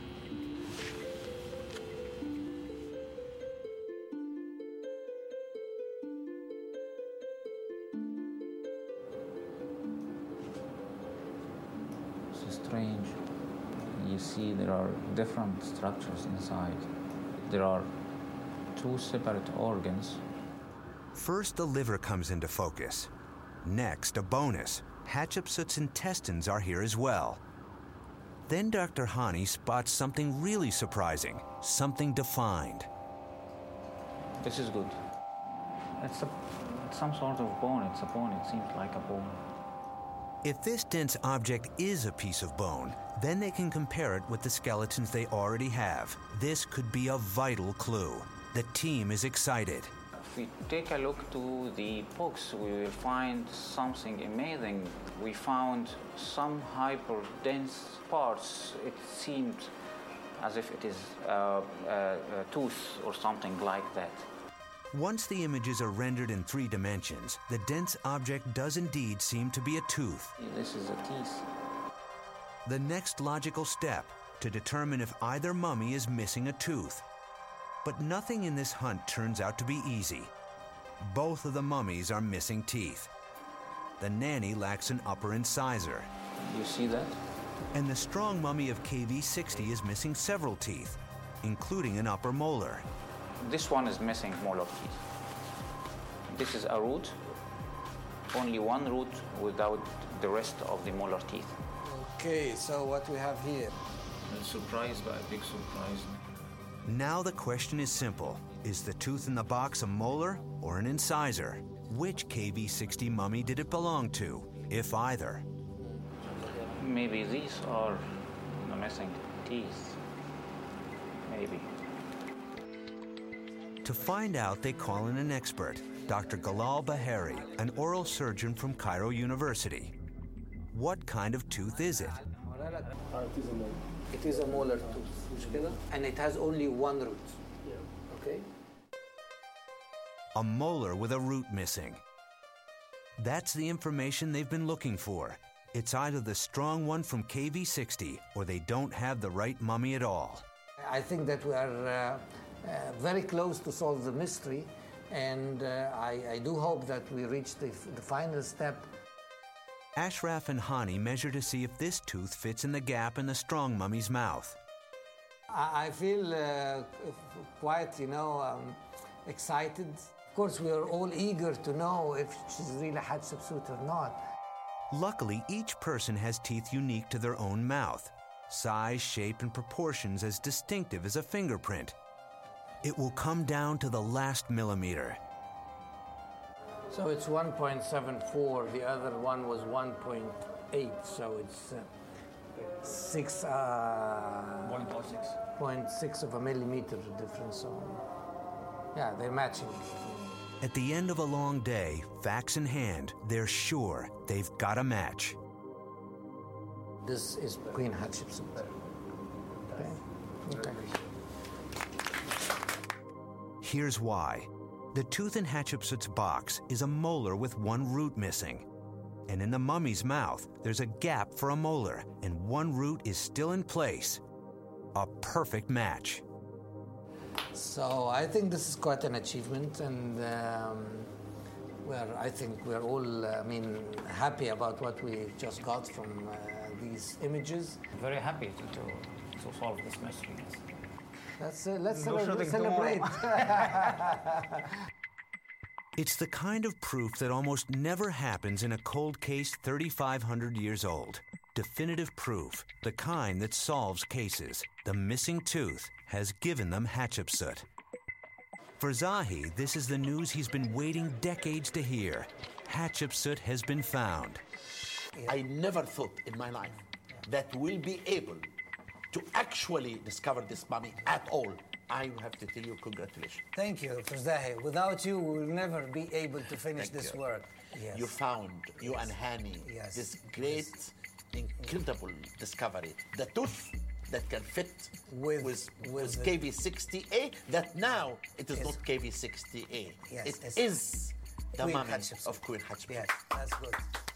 This is strange. You see there are different structures inside. There are two separate organs. First, the liver comes into focus. Next, a bonus. Hatshepsut's intestines are here as well. Then Doctor Hani spots something really surprising, something defined. This is good. It's, a, it's some sort of bone. It's a bone. It seems like a bone. If this dense object is a piece of bone, then they can compare it with the skeletons they already have. This could be a vital clue. The team is excited. If we take a look to the books, we will find something amazing. We found some hyper-dense parts. It seemed as if it is uh, a, a tooth or something like that. Once the images are rendered in three dimensions, the dense object does indeed seem to be a tooth. This is a teeth. The next logical step, to determine if either mummy is missing a tooth. But nothing in this hunt turns out to be easy. Both of the mummies are missing teeth. The nanny lacks an upper incisor. You see that? And the strong mummy of K V sixty is missing several teeth, including an upper molar. This one is missing molar teeth. This is a root, only one root without the rest of the molar teeth. Okay, so what we have here? I'm surprised by a big surprise. Now the question is simple. Is the tooth in the box a molar or an incisor? Which K V sixty mummy did it belong to, if either? Maybe these are the missing teeth. Maybe. To find out, they call in an expert, Doctor Galal Bahari, an oral surgeon from Cairo University. What kind of tooth is it? It is a molar tooth, and it has only one root. Okay? A molar with a root missing. That's the information they've been looking for. It's either the strong one from K V sixty, or they don't have the right mummy at all. I think that we are uh, uh, very close to solve the mystery, and uh, I, I do hope that we reach the, the final step. Ashraf and Hani measure to see if this tooth fits in the gap in the strong mummy's mouth. I, I feel uh, quite, you know, um, excited. Of course, we are all eager to know if she's really Hatshepsut or not. Luckily, each person has teeth unique to their own mouth. Size, shape, and proportions as distinctive as a fingerprint. it will come down to the last millimeter. So it's one point seven four, the other one was one point eight, so it's uh, six, uh, one point six. zero point six of a millimeter difference. So, yeah, they're matching. At the end of a long day, facts in hand, they're sure they've got a match. This is Queen Hatshepsut. Okay. Okay. Here's why. The tooth in Hatshepsut's box is a molar with one root missing. And in the mummy's mouth, there's a gap for a molar, and one root is still in place. A perfect match. So I think this is quite an achievement, and um, we're, I think we're all, uh, I mean, happy about what we just got from uh, these images. Very happy to, to, to solve this mystery. Let's, uh, let's No cele- shooting celebrate. It's the kind of proof that almost never happens in a cold case thirty-five hundred years old. Definitive proof, the kind that solves cases. The missing tooth has given them Hatshepsut. For Zahi, this is the news he's been waiting decades to hear. Hatshepsut has been found. I never thought in my life that we'll be able to actually discover this mummy at all. I have to tell you, congratulations. Thank you, Doctor Zahi. Without you, we will never be able to finish Thank this you. work. Yes. You found, you Yes. and Hani, Yes. this great, incredible discovery. The tooth that can fit with, with, with with the- K V sixty A, that now it is Yes. not K V sixty A. Yes, It it's is the Queen mummy Hatshepsut. of Queen Hatshepsut. Yes, that's good.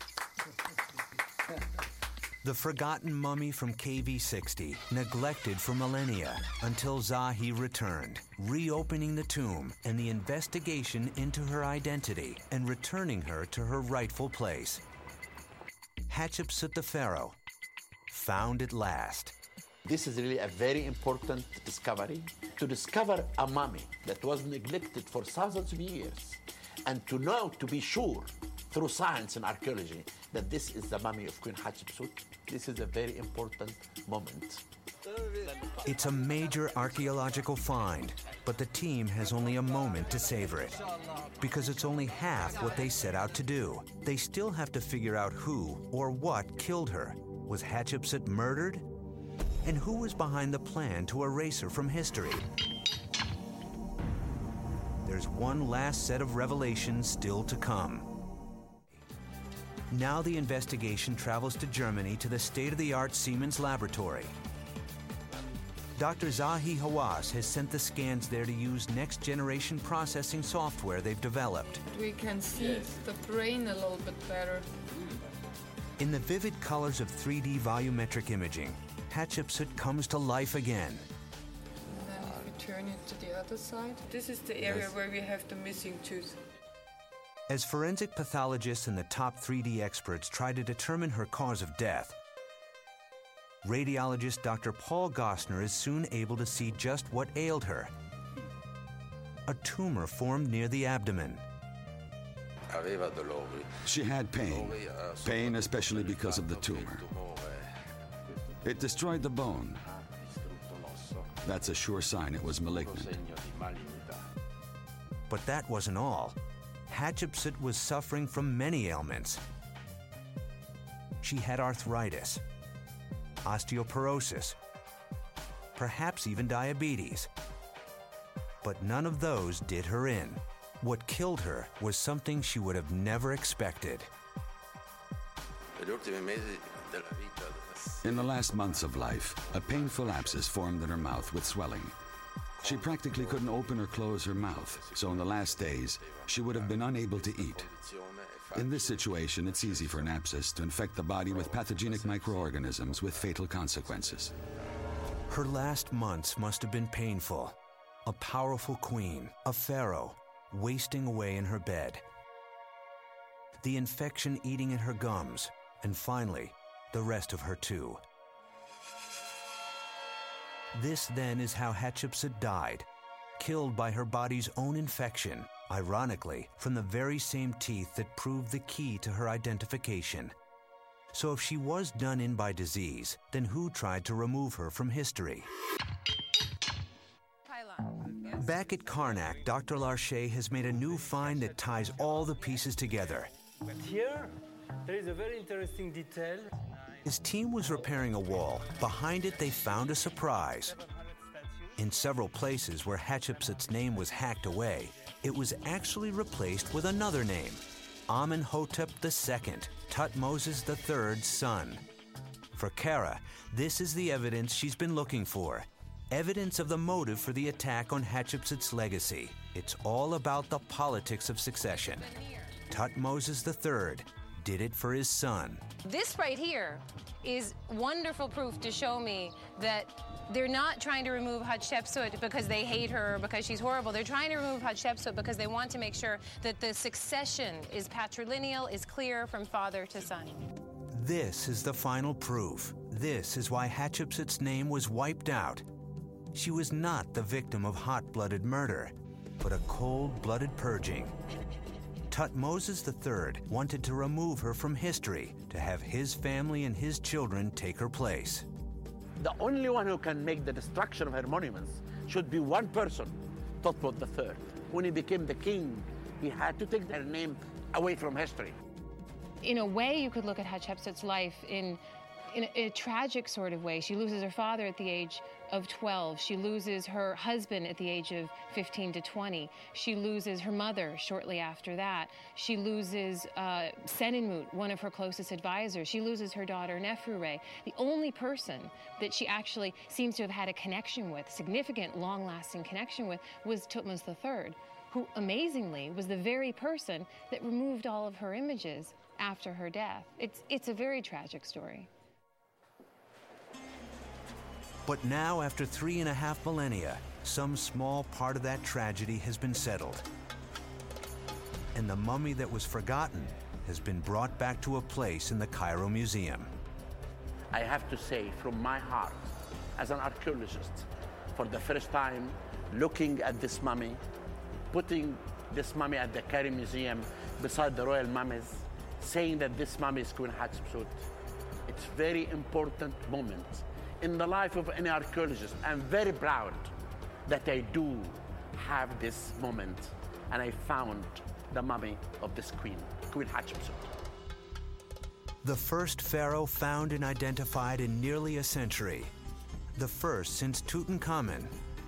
The forgotten mummy from K V sixty, neglected for millennia, until Zahi returned, reopening the tomb and the investigation into her identity and returning her to her rightful place. Hatshepsut the Pharaoh, found at last. This is really a very important discovery. To discover a mummy that was neglected for thousands of years, and to know, to be sure, through science and archaeology, that this is the mummy of Queen Hatshepsut, this is a very important moment. It's a major archaeological find, but the team has only a moment to savor it. Because it's only half what they set out to do. They still have to figure out who or what killed her. Was Hatshepsut murdered? And who was behind the plan to erase her from history? There's one last set of revelations still to come. Now the investigation travels to Germany to the state-of-the-art Siemens laboratory. Doctor Zahi Hawass has sent the scans there to use next-generation processing software they've developed. We can see the brain a little bit better. In the vivid colors of three D volumetric imaging, Hatshepsut comes to life again. And then if we turn it to the other side, this is the area Yes. where we have the missing tooth. As forensic pathologists and the top three D experts try to determine her cause of death, radiologist Doctor Paul Gostner is soon able to see just what ailed her. A tumor formed near the abdomen. She had pain, pain especially because of the tumor. It destroyed the bone. That's a sure sign it was malignant. But that wasn't all. Hatshepsut was suffering from many ailments. She had arthritis, osteoporosis, perhaps even diabetes. But none of those did her in. What killed her was something she would have never expected. In the last months of life, a painful abscess formed in her mouth with swelling. She practically couldn't open or close her mouth, so in the last days, she would have been unable to eat. In this situation, it's easy for an abscess to infect the body with pathogenic microorganisms with fatal consequences. Her last months must have been painful. A powerful queen, a pharaoh, wasting away in her bed. The infection eating at her gums, and finally, the rest of her too. This then is how Hatshepsut died, killed by her body's own infection, ironically, from the very same teeth that proved the key to her identification. So if she was done in by disease, then who tried to remove her from history? Back at Karnak, Doctor Larcher has made a new find that ties all the pieces together. But here, there is a very interesting detail. His team was repairing a wall. Behind it, they found a surprise. In several places where Hatshepsut's name was hacked away, it was actually replaced with another name, Amenhotep the Second, Thutmose the Third's son. For Kara, this is the evidence she's been looking for. Evidence of the motive for the attack on Hatshepsut's legacy. It's all about the politics of succession. Thutmose the Third did it for his son. This right here is wonderful proof to show me that they're not trying to remove Hatshepsut because they hate her or because she's horrible. They're trying to remove Hatshepsut because they want to make sure that the succession is patrilineal, is clear from father to son. This is the final proof. This is why Hatshepsut's name was wiped out. She was not the victim of hot-blooded murder, but a cold-blooded purging. Thutmose the Third wanted to remove her from history, to have his family and his children take her place. The only one who can make the destruction of her monuments should be one person, Thutmose the Third. When he became the king, he had to take her name away from history. In a way, you could look at Hatshepsut's life in, in a, a tragic sort of way. She loses her father at the age of twelve. She loses her husband at the age of fifteen to twenty. She loses her mother shortly after that. She loses uh, Senenmut, one of her closest advisors. She loses her daughter Neferure. The only person that she actually seems to have had a connection with, significant, long-lasting connection with, was Thutmose the Third, who amazingly was the very person that removed all of her images after her death. It's, it's a very tragic story. But now, after three and a half millennia, some small part of that tragedy has been settled. And the mummy that was forgotten has been brought back to a place in the Cairo Museum. I have to say from my heart, as an archaeologist, for the first time, looking at this mummy, putting this mummy at the Cairo Museum beside the royal mummies, saying that this mummy is Queen Hatshepsut, it's a very important moment in the life of any archaeologist. I'm very proud that I do have this moment, and I found the mummy of this queen, Queen Hatshepsut. The first pharaoh found and identified in nearly a century. The first since Tutankhamun.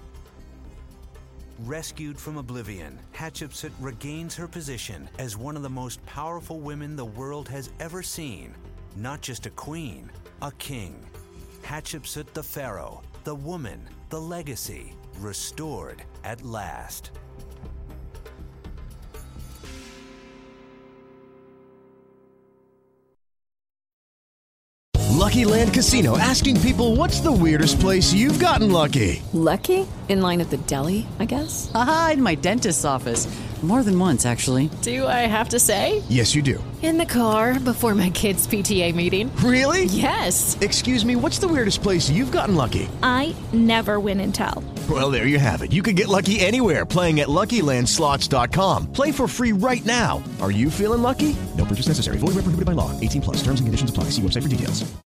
Rescued from oblivion, Hatshepsut regains her position as one of the most powerful women the world has ever seen. Not just a queen, a king. Hatshepsut the pharaoh, the woman, the legacy, restored at last. Lucky Land Casino, asking people, what's the weirdest place you've gotten lucky? Lucky? In line at the deli, I guess? Aha, in my dentist's office. More than once, actually. Do I have to say? Yes, you do. In the car before my kids' P T A meeting. Really? Yes. Excuse me, what's the weirdest place you've gotten lucky? I never win and tell. Well, there you have it. You can get lucky anywhere, playing at Lucky Land Slots dot com. Play for free right now. Are you feeling lucky? No purchase necessary. Void where prohibited by law. eighteen plus. Terms and conditions apply. See website for details.